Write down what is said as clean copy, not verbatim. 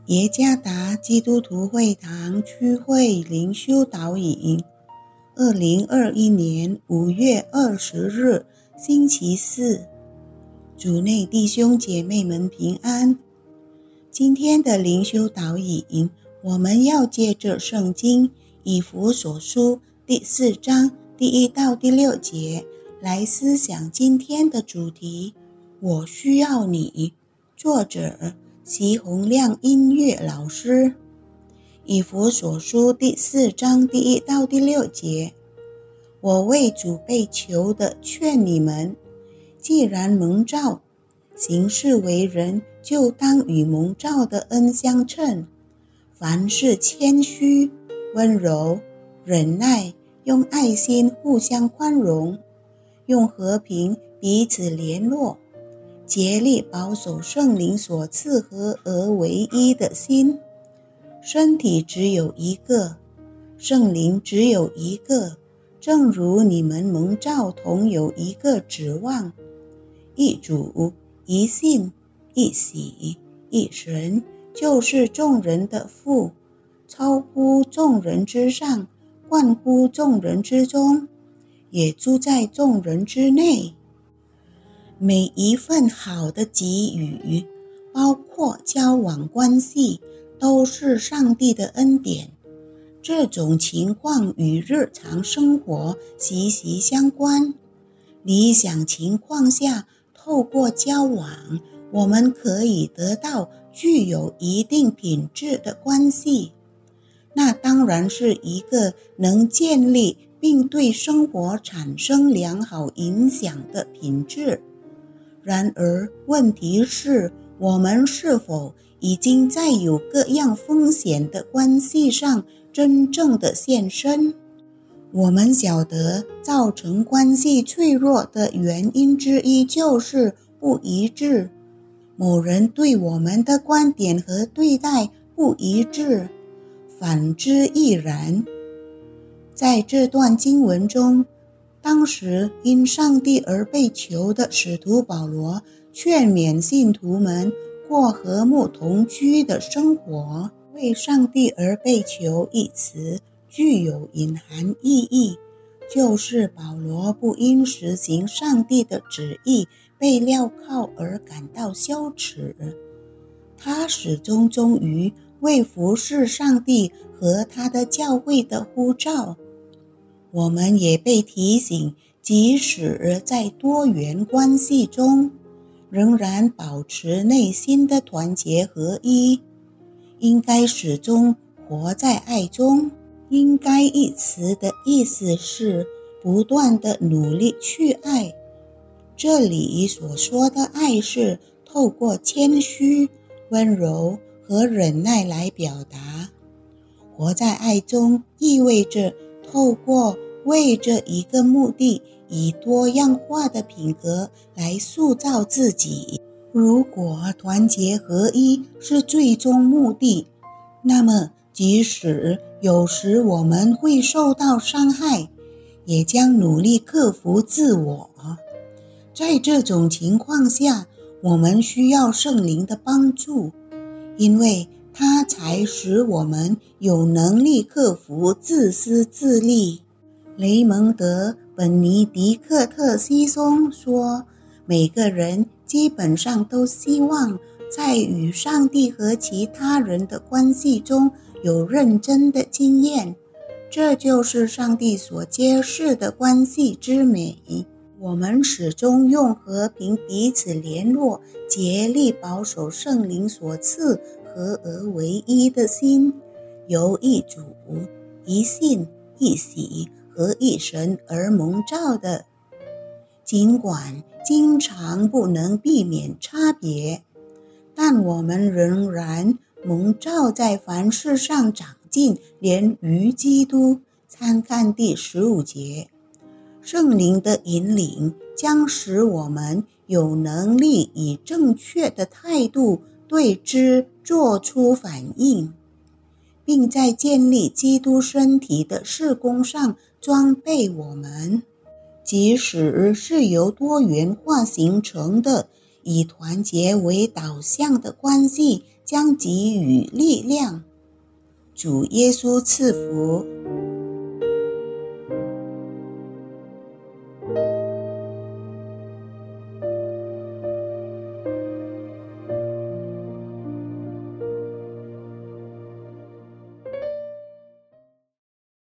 耶加达基督徒会堂区会灵修导引，2021年5月20日，星期四。主内弟兄姐妹们平安。今天的灵修导引，我们要借着圣经以弗所书第4章第1到第6节来思想今天的主题。我需要你。作者席洪亮音乐老师。以弗所书第4章第1到第6节，我为主被求的劝你们，既然蒙召，行事为人，就当与蒙召的恩相称。凡事谦虚、温柔、忍耐，用爱心互相宽容，用和平彼此联络，竭力保守圣灵所赐合而为一的心。身体只有一个，圣灵只有一个，正如你们蒙召同有一个指望，一主、一信、一洗、一神，就是众人的父，超乎众人之上，贯乎众人之中，也住在众人之内。每一份好的给予，包括交往关系，都是上帝的恩典。这种情况与日常生活息息相关。理想情况下，透过交往，我们可以得到具有一定品质的关系。那当然是一个能建立并对生活产生良好影响的品质。然而，问题是，我们是否已经在有各样风险的关系上真正的献身？我们晓得，造成关系脆弱的原因之一就是不一致。某人对我们的观点和对待不一致，反之亦然。在这段经文中，当时因上帝而被求的使徒保罗劝勉信徒们过和睦同居的生活。为上帝而被求一词具有隐含意义，就是保罗不因实行上帝的旨意被镣铐而感到羞耻，他始终忠于为服侍上帝和他的教会的呼召。我们也被提醒，即使在多元关系中，仍然保持内心的团结合一，应该始终活在爱中。应该一词的意思是不断的努力去爱。这里所说的爱是透过谦虚、温柔和忍耐来表达。活在爱中意味着透过为这一个目的，以多样化的品格来塑造自己。如果团结合一是最终目的，那么即使有时我们会受到伤害，也将努力克服自我。在这种情况下，我们需要圣灵的帮助，因为它才使我们有能力克服自私自利。雷蒙德·本尼迪克特西松说，每个人基本上都希望在与上帝和其他人的关系中有认真的经验，这就是上帝所揭示的关系之美。我们始终用和平彼此联络，竭力保守圣灵所赐合而为一的心，由一主、一信、一洗和一神而蒙召的。尽管经常不能避免差别，但我们仍然蒙召在凡事上长进，连于基督。参看第15节。圣灵的引领将使我们有能力以正确的态度对之做出反应，并在建立基督身体的事工上装备我们。即使是由多元化形成的以团结为导向的关系， 将给予力量。主耶稣赐福。